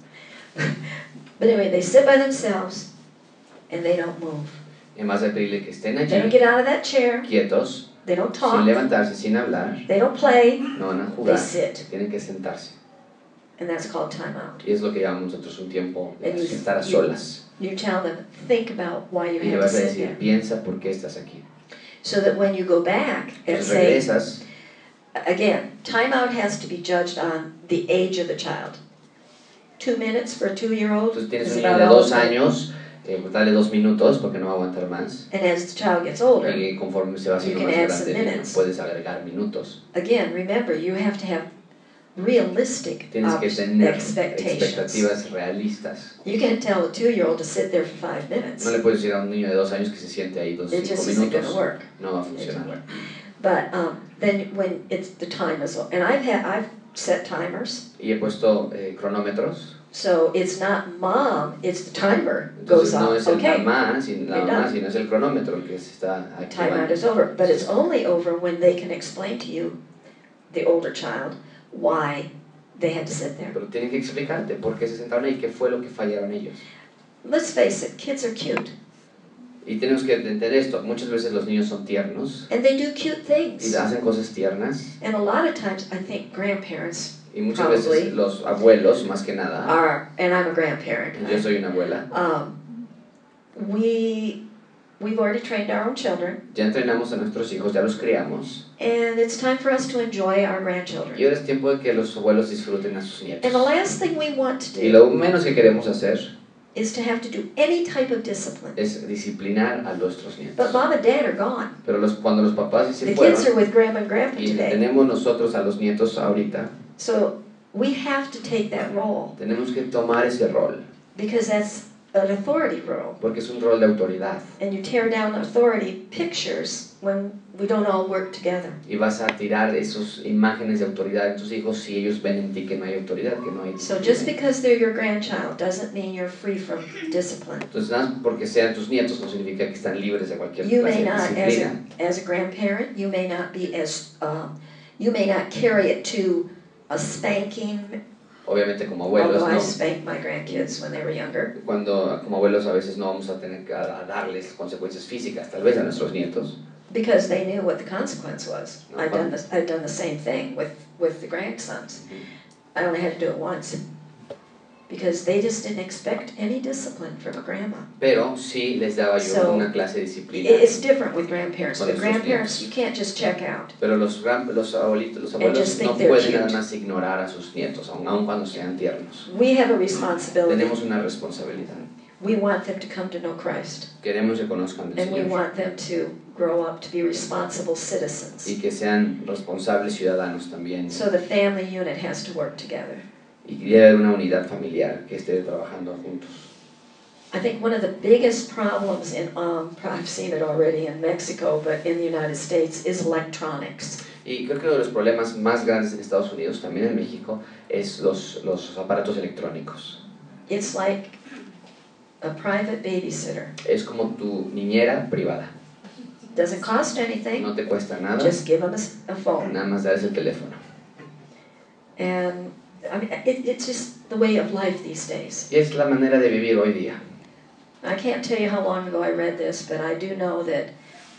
But anyway, they sit by themselves and they don't move.
Y más de pedirle que estén
They don't
allí,
get out of that chair,
quietos,
they don't
sin
talk,
levantarse, sin hablar.
they don't play,
No van a
they
jugar,
sit.
tienen que sentarse.
And that's called time out.
Y es lo que llamamos nosotros un tiempo de
And you-
estar a
you-
solas.
You tell them, think about why you
Y le
have to
vas a
sit
decir,
there.
piensa por qué estás aquí.
So that when you go back and
Entonces
say,
regresas,
again, time out has to be judged on the age of the child. Two minutes for a two-year-old
entonces tienes
is
un niño
about
de
all
dos
it's gonna-
años, eh, pues dale dos minutos porque no va a aguantar más.
And as the child gets older,
Y conforme se va haciendo
You
más
can add
grande,
some
el niño,
minutes.
puedes agregar minutos.
again, remember, you have to have realistic
Tienes que
ob-
tener
expectations.
expectativas realistas.
You can't tell a two-year-old to sit there for five minutes.
No le puedes decir a un niño de dos años que se siente ahí dos
It
cinco
just isn't going to
minutos.
work.
No va a
It doesn't
funcionar.
work. But um, then when it's the time is, and I've had I've set timers,
Y he puesto eh, cronómetros.
so it's not mom, it's the timer goes
Entonces no
off.
es el
Okay,
mamá, sin- nada
You're
más,
done.
sino es el cronómetro el que se está
time out
activando.
is over. But it's only over when they can explain to you, the older child, why they had to sit there.
Pero tienen que explicarte por qué se sentaron ahí, qué fue lo que fallaron ellos.
Let's face it, kids are cute,
Y tenemos que entender esto. Muchas veces los niños son tiernos
and they do cute
y
things.
hacen cosas tiernas.
And a lot of times, I think grandparents
Y muchas
Probably.
veces los abuelos, más que nada,
are, and I'm a grandparent.
yo soy una abuela,
Um, we we've already trained our own children,
ya entrenamos a nuestros hijos, ya los criamos.
and it's time for us to enjoy our
Y
grandchildren.
ahora es tiempo de que los abuelos disfruten a sus nietos.
And the last thing we want to
Y
do
lo menos que queremos hacer
is to have to do any type of discipline.
es disciplinar a nuestros
But
nietos.
mom and dad are gone.
Pero los, cuando los papás se
The kids
fueron
are with grandma and grandpa
y
today.
tenemos nosotros a los nietos ahorita,
So we have to take that role
tenemos que tomar ese rol,
because that's an authority role.
porque es un rol de autoridad.
And you tear down authority pictures when we don't all work together.
Y vas a tirar esas imágenes de autoridad en tus hijos si ellos ven en ti que no hay autoridad, que no hay
So
disciplina.
just because they're your grandchild doesn't mean you're free from discipline.
Entonces, nada más porque sean tus nietos no significa que están libres de cualquier
You
clase
may
de
not, as
disciplina.
a, as a grandparent, you may not be as, um, you may not carry it to a spanking,
Obviamente como abuelos,
although I
no.
spanked my grandkids when they were younger.
Cuando como abuelos a veces no vamos a tener que a- a darles consecuencias físicas, tal vez a nuestros nietos.
Because they knew what the consequence was.
No,
I've done
fun.
this, I've done the same thing with, with the grandsons. I only had to do it once. Because they just didn't expect any discipline from a grandma.
Pero sí les daba yo
So,
una clase de disciplina.
It- It's different with grandparents.
Con
With
nuestros
grandparents,
nietos.
you can't just check out.
Pero los, gran- los abuelitos, los
And
abuelos
just think
no
they're
pueden
cute.
nada más ignorar a sus nietos, aun, aun cuando sean tiernos.
We have a responsibility.
Tenemos una responsabilidad.
We want them to come to know Christ.
Queremos que conozcan al
And we
Señor
want them to grow up to be responsible
y
citizens.
que sean responsables ciudadanos también.
So the family unit has to work together.
Y que debe haber una unidad familiar que esté trabajando juntos.
I think one of the biggest problems in, um, I've seen it already in Mexico, but in the United States, is electronics.
Y creo que uno de los problemas más grandes en Estados Unidos, también en México, es los, los aparatos electrónicos.
It's like a private babysitter.
Es como tu niñera privada.
Doesn't cost anything,
No te cuesta nada,
just give them a s- a phone.
nada más darles el teléfono.
And I mean, it, it's just the way of life these days.
Y es la manera de vivir hoy día.
I can't tell you how long ago I read this, but I do know that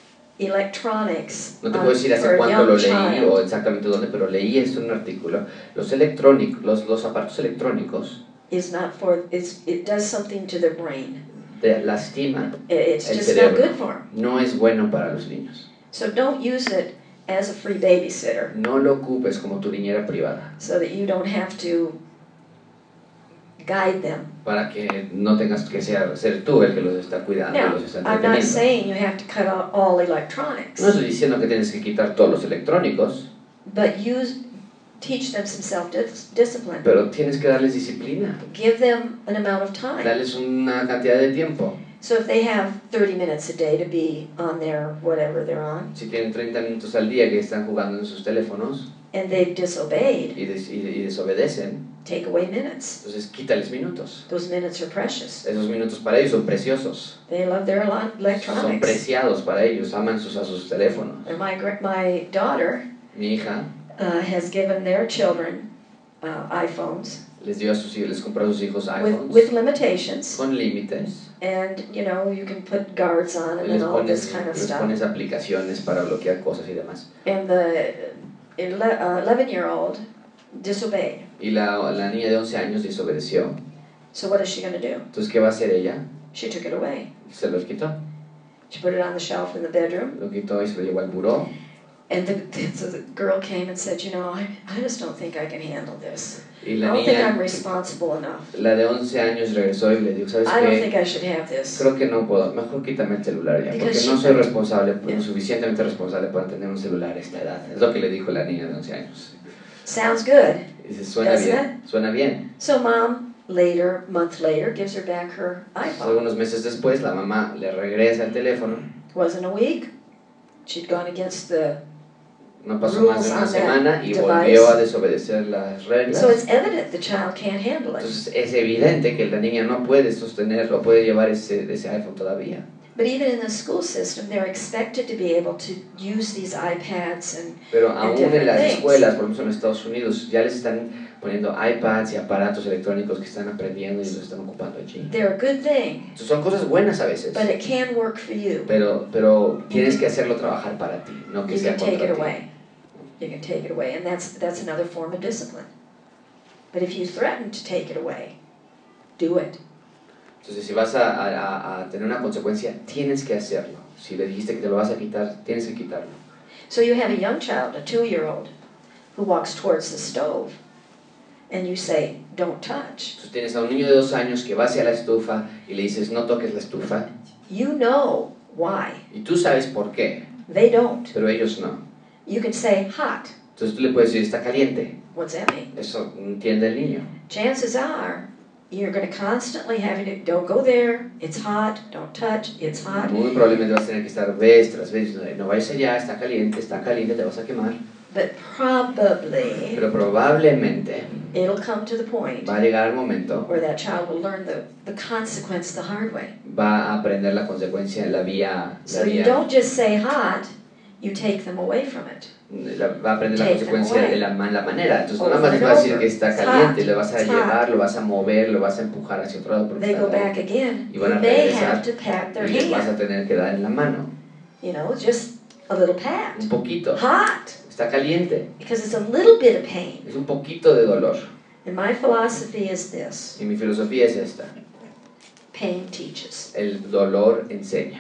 electronics
No te
um,
puedo decir
for
hace
a
cuánto lo
young
leí
child
o exactamente dónde, pero leí esto en un artículo. Los electrónicos, los, los aparatos electrónicos
is not for, it's, it does something to their brain.
te lastima
It's
el
just not
cerebro.
good for them.
No es bueno para los niños.
So don't use it as a free babysitter
No lo ocupes como tu niñera privada,
so that you don't have to guide them.
para que no tengas que ser, ser tú el que los está cuidando y
Now,
los está
I'm not
entreteniendo.
saying you have to cut out all electronics,
No estoy diciendo que tienes que quitar todos los electrónicos,
but use, teach them some self-discipline.
pero tienes que darles disciplina,
Give them an amount of time.
darles una cantidad de tiempo.
So if they have thirty minutes a day to be on their whatever they're on,
Si tienen treinta minutos al día que están jugando en sus teléfonos
and they've disobeyed,
y, des- y- y desobedecen,
take away minutes.
entonces quítales minutos.
Those minutes are precious.
Esos minutos para ellos son preciosos,
They love their ele-
son
electronics.
preciados para ellos, aman sus, a sus teléfonos.
And my gra- my daughter
Mi hija
uh, has given their children uh, iPhones
les dio a sus hijos, les compró a sus hijos
with,
iPhones
with limitations,
con límites.
and you know you can put guards on them
Les
and all this
pones,
kind of
les
stuff.
pones aplicaciones para bloquear cosas y demás.
And the eleven-year-old disobeyed.
Y la, la niña de once años desobedeció.
So what is she going to do?
Entonces, ¿qué va a hacer ella?
She took it away.
Se los quitó.
She put it on the shelf in the bedroom.
Lo quitó y se lo llevó al buró.
And the, so the girl came and said, you know, I, I just don't think I can handle this.
Y
I
la
don't think I'm
niña,
responsible enough.
la de once años, regresó y le dijo, ¿sabes
I don't
qué?
think I should have this.
Creo que no puedo, mejor quítame el celular ya, porque
Because
no
she-
soy responsable, pues,
Yeah.
lo suficientemente responsable para tener un celular a esta edad. Es lo que le dijo la niña de once años.
Sounds good.
Y dice, suena
Doesn't
bien, suena bien.
So mom, later, month later, gives her back her iPhone.
Algunos meses después, la mamá le regresa el teléfono.
Wasn't a week. She'd gone against the...
No pasó más de
Rules
una
on that
semana y
device.
volvió a desobedecer las reglas.
So it's evident the child can't handle it.
Entonces es evidente que la niña no puede sostenerlo, puede llevar ese, ese iPhone todavía.
But even in the school system, they're expected to be able to use these iPads and
Pero aún en
different
las
things.
escuelas, por ejemplo en Estados Unidos, ya les están poniendo iPads y aparatos electrónicos que están aprendiendo y los están ocupando allí.
they're a good thing,
Entonces, son cosas buenas a veces,
but it can work for you.
pero, pero tienes que hacerlo trabajar para ti, no que
You
sea
can take
contra
it
ti.
away. You can take it away, and that's that's another form of discipline. But if you threaten to take it away, do it.
Entonces, si vas a, a, a tener una consecuencia, tienes que hacerlo. Si le dijiste que te lo vas a quitar, tienes que quitarlo.
So you have a young child, a two-year-old, who walks towards the stove, and you say, "Don't touch."
Entonces, tienes a un niño de dos años que va hacia la estufa y le dices, no toques la estufa.
You know why.
Y tú sabes por qué,
They don't.
pero ellos no.
You can say, "Hot."
Entonces, tú le puedes decir, está caliente.
What's that mean?
Eso entiende el niño.
Chances are you're going to constantly have to, don't go there, it's hot, don't touch, it's hot.
Muy probablemente vas a tener que estar vez tras vez diciendo, no vayas allá, está caliente, está caliente, te vas a quemar.
But probably
Pero probablemente
it'll come to the point
va a llegar el momento,
where that child will learn the, the consequence the hard way.
va a aprender la consecuencia en la vía, la
So you
vía
don't just say hot, you take them away from it.
la- va a aprender la
Take them
consecuencia
away.
de la, ma- la manera. Entonces no
Over
nada más
and
le vas a decir
over.
que está
It's
caliente,
hot.
le vas a
It's
llevar,
hot.
lo vas a mover, lo vas a empujar hacia otro lado porque
They
está
go back again.
Y
You
van a
may
regresar.
have to pat their
y les vas a
hand.
tener que dar en la mano.
You know, just a little pat.
Un poquito.
Hot,
Está caliente.
because it's a little bit of pain.
Es un poquito de dolor.
And my philosophy is this:
Y mi filosofía es esta.
pain teaches.
El dolor enseña.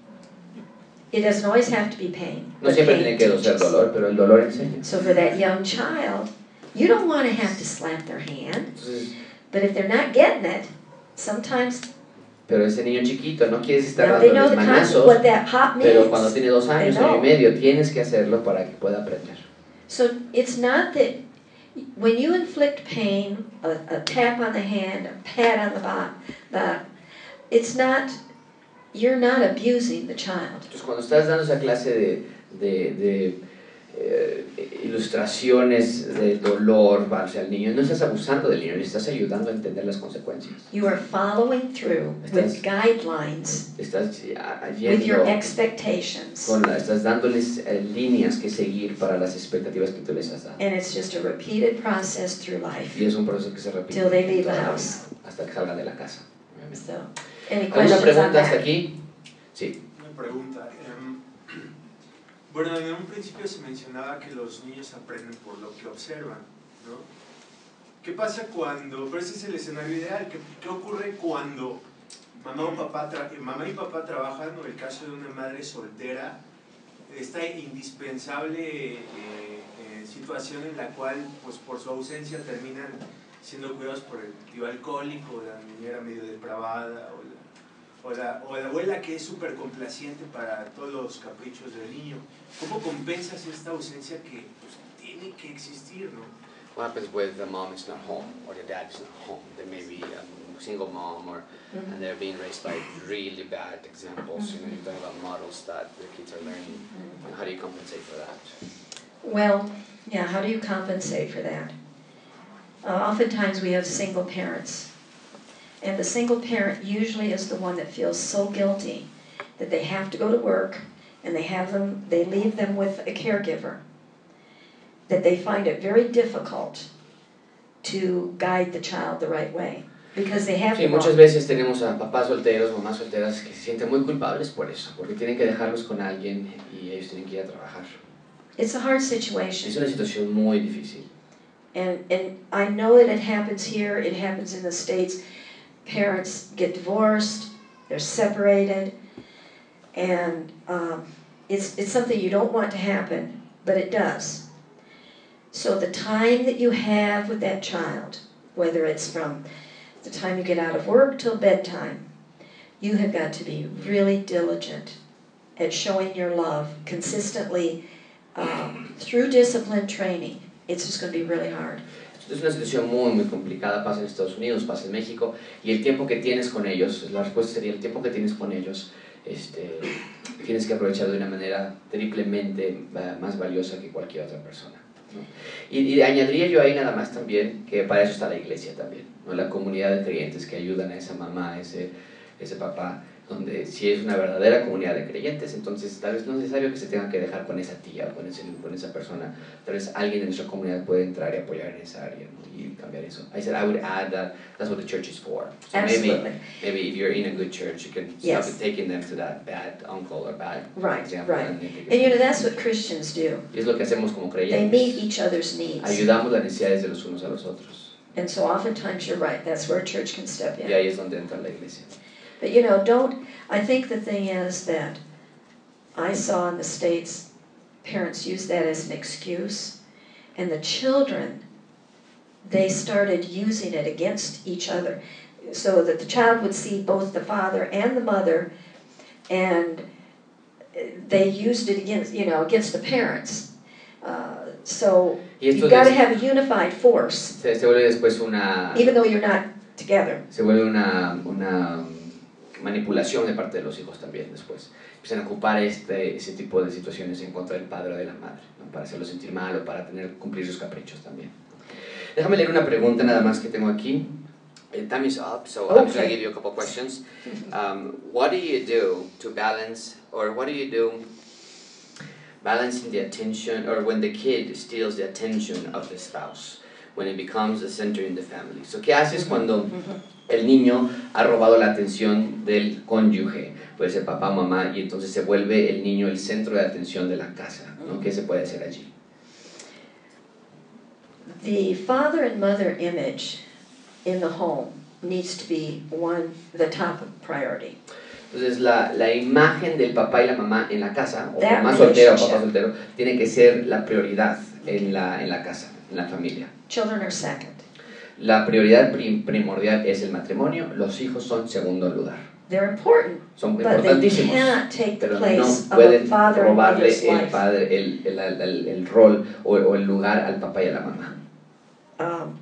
It doesn't always have to be pain.
No
but
siempre
pain
tiene que ser
teaches.
dolor, pero el dolor enseña.
So for that young child, you don't want to have to slap their hand,
Entonces,
but if they're not getting it, sometimes
pero ese niño chiquito no quieres estar
now they know
dándoles
the concept,
manazos,
what that hot
pero cuando
means.
tiene dos años,
They
año y
know.
medio, tienes que hacerlo para que pueda aprender.
So it's not that when you inflict pain, a, a tap on the hand, a pat on the back, the, it's not, you're not abusing the child.
Entonces, cuando estás dando esa clase de, de, de eh, ilustraciones de dolor hacia el niño, no estás abusando del niño, le estás ayudando a entender las consecuencias.
You are following through with
Estás-
guidelines,
Estás ah,
with your
yendo
expectations.
con la, estás dándoles eh, líneas que seguir para las expectativas que tú les has dado.
And it's just a repeated process through life.
Y es un proceso que se repite
Till they leave
toda
the
la
house.
vida, hasta que salgan de la casa. Obviamente.
So, any
¿Alguna
questions on
pregunta hasta
that?
aquí? Sí.
Una pregunta. em, bueno, en un principio se mencionaba que los niños aprenden por lo que observan, ¿no? ¿Qué pasa cuando, pero ese es el escenario ideal, ¿qué, qué ocurre cuando mamá, o papá tra mamá y papá trabajan, o el caso de una madre soltera, esta indispensable eh, eh, situación en la cual, pues por su ausencia, terminan siendo cuidados por el tío alcohólico, la niñera medio depravada, o la, o la, o la abuela que es súper complaciente para todos los caprichos del niño. ¿Cómo compensas esta ausencia que pues, tiene que existir, no?
What happens with the mom is not home or the dad is not home? They may be a single mom or
Mm-hmm.
and they're being raised by really bad examples. You know, you're talking about models that the kids are learning. And how do you compensate for that?
Well, yeah, how do you compensate for that? Uh, oftentimes we have single parents. And the single parent usually is the one that feels so guilty that they have to go to work and they have them, they leave them with a caregiver, that they find it very difficult to guide the child the right way because they have
Sí,
to.
muchas veces tenemos a papás solteros, mamás solteras que se sienten muy culpables por eso, porque tienen que dejarlos con alguien y ellos tienen que ir a trabajar.
It's a hard
Es
situation.
una situación muy difícil.
And, and I know that it happens here, it happens in the States. Parents get divorced, they're separated, and um, it's, it's something you don't want to happen, but it does. So the time that you have with that child, whether it's from the time you get out of work till bedtime, you have got to be really diligent at showing your love consistently um, through discipline training. It's just going to be really hard.
Es una situación muy, muy complicada, pasa en Estados Unidos, pasa en México, y el tiempo que tienes con ellos, la respuesta sería el tiempo que tienes con ellos, este, tienes que aprovechar de una manera triplemente más valiosa que cualquier otra persona, ¿no? Y, y añadiría yo ahí nada más también que para eso está la iglesia también, ¿no? La comunidad de creyentes que ayudan a esa mamá, a ese, ese papá, donde si es una verdadera comunidad de creyentes, entonces tal vez no es necesario que se tengan que dejar con esa tía o con, ese, con esa persona, tal vez alguien de nuestra comunidad puede entrar y apoyar en esa área, ¿no? Y cambiar eso. I said I would add that that's what the church is for. So
Absolutely.
maybe, maybe if you're in a good church, you can
Yes.
stop taking them to that bad uncle or bad
Right,
example.
right.
And, they take it
And you know,
from
that's what Christians do.
Y es lo que hacemos como
They
creyentes.
meet each other's needs.
Ayudamos las necesidades de los unos a los otros.
And so oftentimes you're right, that's where a church can step
Y
in.
ahí es donde entra la iglesia.
But you know, don't, I think the thing is that I saw in the States, parents use that as an excuse, and the children, they started using it against each other, so that the child would see both the father and the mother, and they used it against, you know, against the parents. Uh, so you've got to have a unified force,
Se, se vuelve después una...
even though you're not together.
Se vuelve una, una manipulación de parte de los hijos también después. Empiezan a ocupar este, ese tipo de situaciones en contra del padre o de la madre, ¿no? Para hacerlo sentir mal o para tener, cumplir sus caprichos también. Déjame leer una pregunta nada más que tengo aquí. Uh, time is up, so okay. I'm just going to give you a couple questions. Um, what do you do to balance, or what do you do balancing the attention, or when the kid steals the attention of the spouse, when it becomes the center in the family? So, ¿qué haces cuando el niño ha robado la atención del cónyuge? Puede ser papá, mamá, y entonces se vuelve el niño el centro de atención de la casa, ¿no? ¿Qué se puede hacer allí?
The father and mother image in the home needs to be one, the top priority.
Entonces la, la imagen del papá y la mamá en la casa, o
That
mamá soltera o
relationship.
papá soltero, tiene que ser la prioridad en la, en la casa, en la familia.
Children are second.
La prioridad prim, primordial es el matrimonio, los hijos son segundo lugar.
They're important,
Son
but they
importantísimos,
cannot take the
pero
place
no
of a
pueden
father and
robarle
mother's
el,
life.
padre, el, el, el, el rol o, o el lugar al papá y a la mamá.
Um,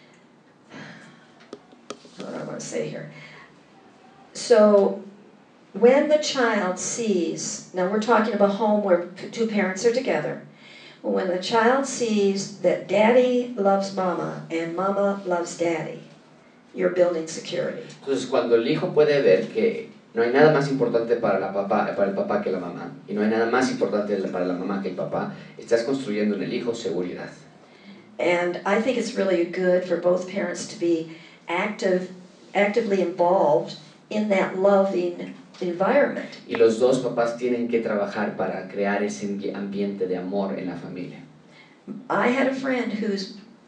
what do I want to say here? So, when the child sees, now we're talking about a home where p- two parents are together. When the child sees that daddy loves mama and mama loves daddy, you're building security.
Entonces cuando el hijo puede ver que no hay nada más importante para, la papá, para el papá que la mamá, y no hay nada más importante para la mamá que el papá, estás construyendo en el hijo seguridad.
And I think it's really good for both parents to be active, actively involved in that loving environment.
Y los dos papás tienen que trabajar para crear ese ambiente de amor en la familia.
I had a friend whose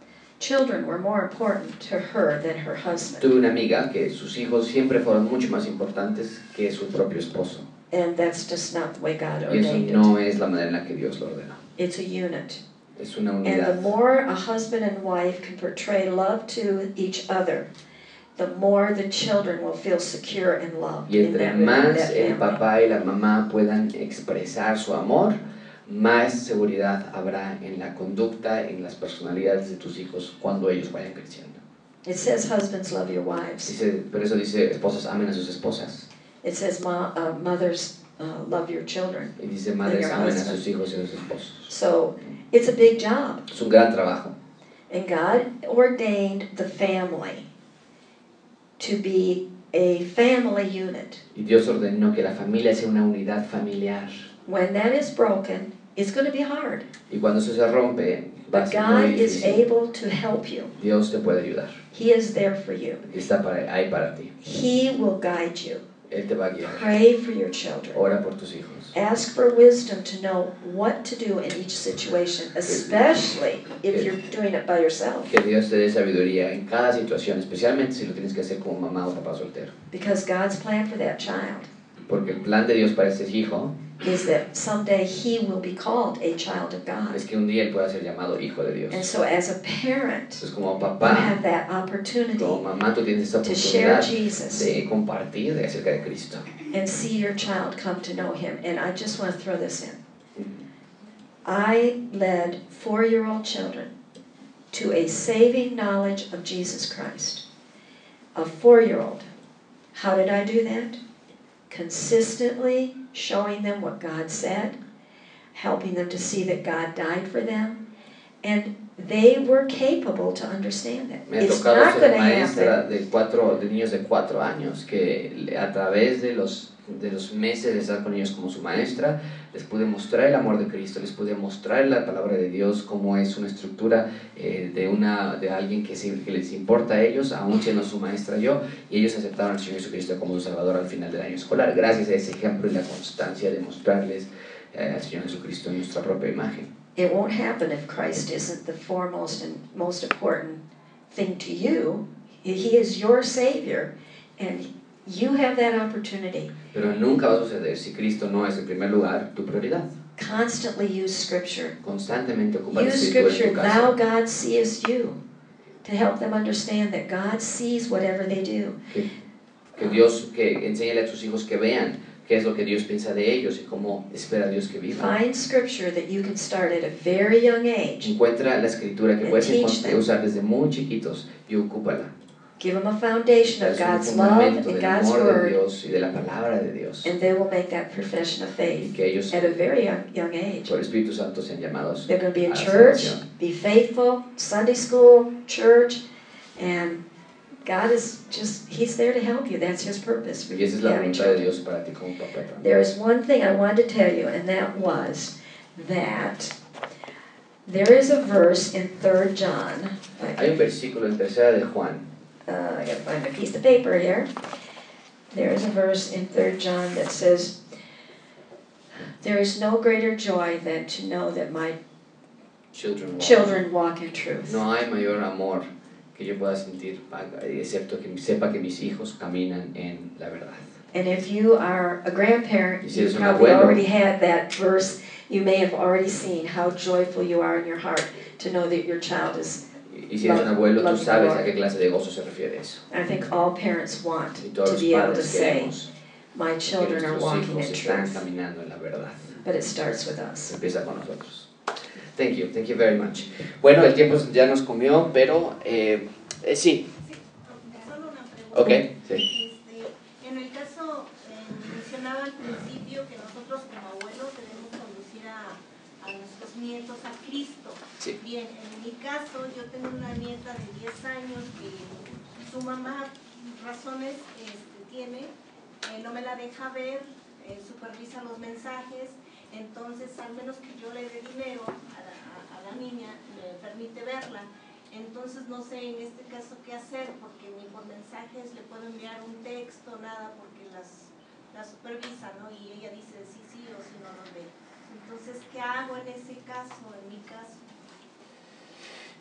children were more important to her than her husband.
Tuve una amiga que sus hijos siempre fueron mucho más importantes que su propio esposo.
And that's just not the way God
Y eso
ordained
no
it.
es la manera en la que Dios lo ordenó.
It's a unit.
Es una
And the
unidad.
more a husband and wife can portray love to each other, the more the children will feel secure and loved
Y
in
entre
that, in
más
that
el
family.
papá y la mamá puedan expresar su amor, más seguridad habrá en la conducta, en las personalidades de tus hijos cuando ellos vayan creciendo.
It says husbands love your wives.
Dice, por eso dice, esposas amen a sus esposas.
It says mo- uh, mothers uh, love your children.
Y dice, madres
your
amen a
husband.
sus hijos y a sus esposos.
So it's a big job.
Es un gran trabajo.
And God ordained the family to be a family unit.
Y Dios ordenó que la familia sea una unidad familiar.
When that is broken, it's going to be hard.
Y cuando eso se rompe, va a
But
ser
God
muy
is
difícil.
able to help you.
Dios te puede ayudar.
He is there for you.
Está para, ahí para ti.
He will guide you.
Él te va a guiar.
Pray for your children.
Ora por tus hijos.
Ask for wisdom to know what to do in each situation, especially if you're doing it by yourself.
Que Dios te dé sabiduría en cada situación, especialmente si lo tienes que hacer como mamá o papá soltero.
Because God's plan for that child
Porque el plan de Dios para ese hijo
is that someday he will be called a child of God.
es que un día él pueda ser llamado hijo de Dios.
And so as a parent,
Entonces como
you
papá,
have that opportunity
como mamá, tú tienes esa
to share
oportunidad
Jesus
de compartir de acerca de Cristo.
and see your child come to know him. And I just want to throw this in. I led four-year-old children to a saving knowledge of Jesus Christ. A four-year-old. How did I do that? Consistently showing them what God said, helping them to see that God died for them, and they were capable to understand that.
Me ha
It's
tocado
not
ser
going to
maestra
happen.
de, cuatro, de niños de cuatro años que a través de los, de los meses de estar con ellos como su maestra, les pude mostrar el amor de Cristo, les pude mostrar la palabra de Dios, cómo es una estructura eh, de, una, de alguien que, se, que les importa a ellos, aún siendo su maestra yo, y ellos aceptaron al Señor Jesucristo como su Salvador al final del año escolar, gracias a ese ejemplo y la constancia de mostrarles eh, al Señor Jesucristo en nuestra propia imagen.
It won't happen if Christ isn't the foremost and most important thing to you. He is your Savior, and you have that opportunity.
Pero nunca va a suceder si Cristo no es en primer lugar tu prioridad.
Constantly use Scripture.
Constantemente ocupa el
Use
Espíritu en
Scripture,
tu
thou
casa.
God seest you, to help them understand that God sees whatever they do.
Que, que Dios, que enséñale a tus hijos que vean qué es lo que Dios piensa de ellos y cómo espera Dios que vivan.
Find Scripture that you can start at a very young age.
Encuentra la escritura que
And
puedes
teach
encont-
them.
usar desde muy chiquitos y ocúpala.
Give them a foundation of
Es un
God's love
fundamento
and
del
God's
amor de
Word,
Dios y de la palabra de Dios.
and they will make that profession of
Y
faith
que ellos,
at a very young, young age.
por el Espíritu Santo, sean llamados
They're going to be
a
in
la
church,
salvación.
be faithful, Sunday school, church, and God is just, He's there to help you. That's His purpose for
Y
you
esa es la
having
voluntad de
children.
Dios para ti como papá también.
There is one thing I wanted to tell you, and that was that there is a verse in Third John.
Hay un versículo en tercera de Juan.
Uh, I gotta find a piece of paper here. There is a verse in Third John that says, "There is no greater joy than to know that my
Children walk.
children walk in truth."
No hay mayor amor que yo pueda sentir, excepto que sepa que mis hijos caminan en la verdad.
And if you are a grandparent,
Y si
you
eres un
probably
abuelo,
already had that verse. You may have already seen how joyful you are in your heart to know that your child is.
Y si eres un abuelo, tú
Love
sabes
the
a qué clase de gozo se refiere eso.
I think all parents want
Y todos
to
los
be able to
padres
say,
queremos
"My
que
children are
nuestros
walking
hijos
in
están
truth."
caminando en la verdad.
But it starts with us.
Empieza con nosotros. Thank you, thank you very much. Bueno, el tiempo ya nos comió, pero eh, eh, sí.
Solo una pregunta.
Ok, sí.
Este, en el caso, eh, mencionaba al principio que nosotros como abuelos debemos conducir a, a nuestros nietos a Cristo.
Sí.
Bien, en mi caso yo tengo una nieta de diez años que su mamá razones este, tiene, eh, no me la deja ver, eh, supervisa los mensajes, entonces al menos que yo le dé dinero a la, a, a la niña, me permite verla. Entonces no sé en este caso qué hacer, porque ni por mensajes le puedo enviar un texto, nada, porque las, las supervisa, ¿no? Y ella dice sí, sí o si no los ve. Entonces, ¿qué hago en ese caso, en mi caso?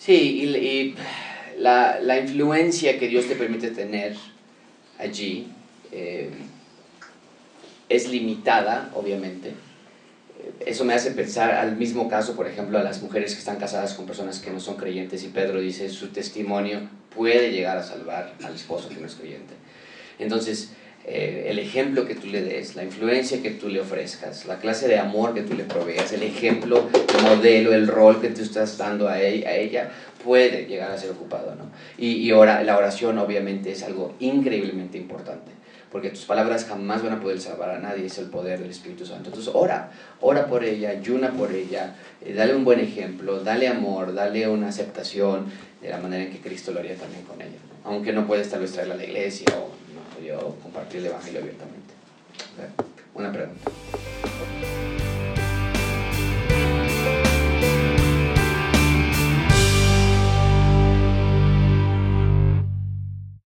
Sí, y, y la, la influencia que Dios te permite tener allí eh, es limitada, obviamente. Eso me hace pensar al mismo caso, por ejemplo, a las mujeres que están casadas con personas que no son creyentes, y Pedro dice, su testimonio puede llegar a salvar al esposo que no es creyente. Entonces, eh, el ejemplo que tú le des, la influencia que tú le ofrezcas, la clase de amor que tú le proveas, el ejemplo, el modelo, el rol que tú estás dando a ella, a ella puede llegar a ser ocupado, ¿no? Y, y ora, la oración obviamente es algo increíblemente importante, porque tus palabras jamás van a poder salvar a nadie, es el poder del Espíritu Santo. Entonces ora, ora por ella, ayuna por ella, eh, dale un buen ejemplo, dale amor, dale una aceptación de la manera en que Cristo lo haría también con ella, ¿no? Aunque no puedes tal vez traerla a la iglesia o, no, o compartir el Evangelio abiertamente. ¿Okay? Una pregunta.